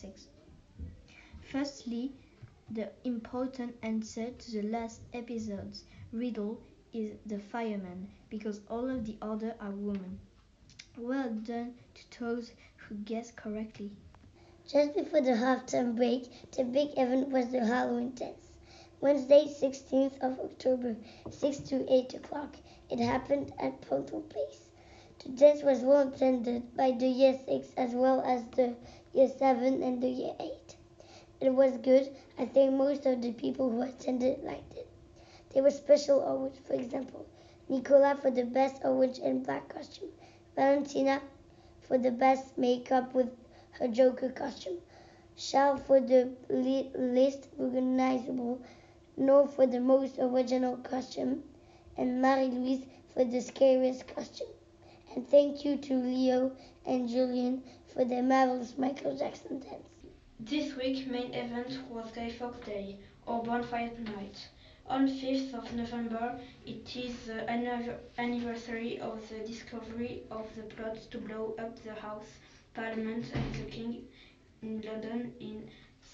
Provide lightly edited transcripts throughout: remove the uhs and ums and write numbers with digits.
6. Firstly, the important answer to the last episode's riddle is the fireman, because all of the others are women. Well done to those who guessed correctly. Just before the halftime break, the big event was the Halloween dance. Wednesday, 16th of October, 6 to 8 o'clock. It happened at Portal Place. The dance was well attended by the Year 6 as well as the Year 7 and the Year 8. It was good. I think most of the people who attended liked it. There were special awards, for example, Nicola for the best orange and black costume, Valentina for the best makeup with her Joker costume, Charles for the least recognizable, Noor for the most original costume, and Marie-Louise for the scariest costume. And thank you to Leo and Julian for their marvelous Michael Jackson dance. This week's main event was Guy Fawkes Day, or Bonfire Night. On 5th of November, it is the anniversary of the discovery of the plot to blow up the House, Parliament and the King in London in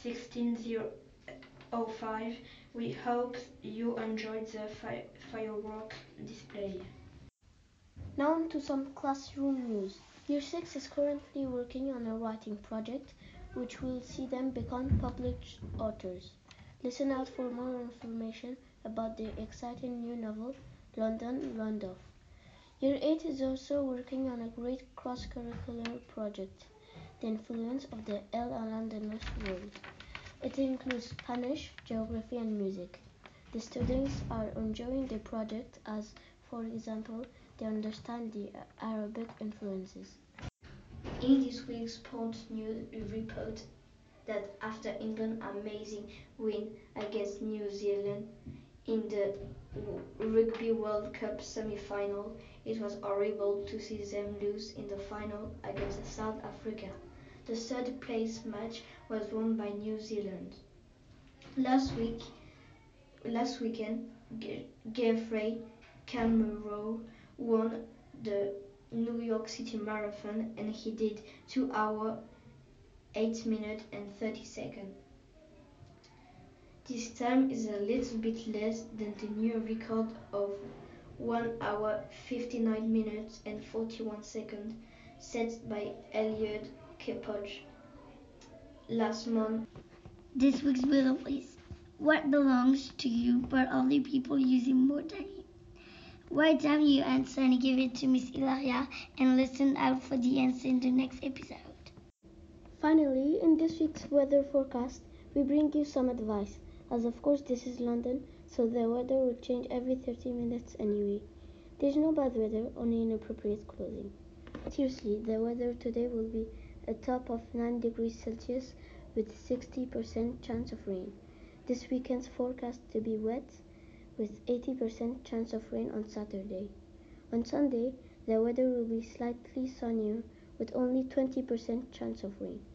1605. We hope you enjoyed the firework display. Now on to some classroom news. Year 6 is currently working on a writing project which will see them become published authors. Listen out for more information about their exciting new novel, London Randolph. Year 8 is also working on a great cross-curricular project, The Influence of the El Londoners World. It includes Spanish, geography and music. The students are enjoying the project as, for example, they understand the Arabic influences. In this week's sports news, we report that after England's amazing win against New Zealand in the Rugby World Cup semi-final, it was horrible to see them lose in the final against South Africa. The third place match was won by New Zealand. Last weekend, Geoffrey Kamworor won the New York City Marathon, and he did 2 hours, 8 minutes and 30 seconds. This time is a little bit less than the new record of 1 hour, 59 minutes and 41 seconds set by Eliud Kipchoge last month. This week's riddle is: what belongs to you but other people using more than you? Write down your answer and give it to Miss Ilaria, and listen out for the answer in the next episode. Finally, in this week's weather forecast, we bring you some advice, as of course this is London, so the weather will change every 30 minutes anyway. There's no bad weather, only inappropriate clothing. Seriously, the weather today will be a top of 9 degrees Celsius with 60% chance of rain. This weekend's forecast to be wet, with 80% chance of rain on Saturday. On Sunday, the weather will be slightly sunnier with only 20% chance of rain.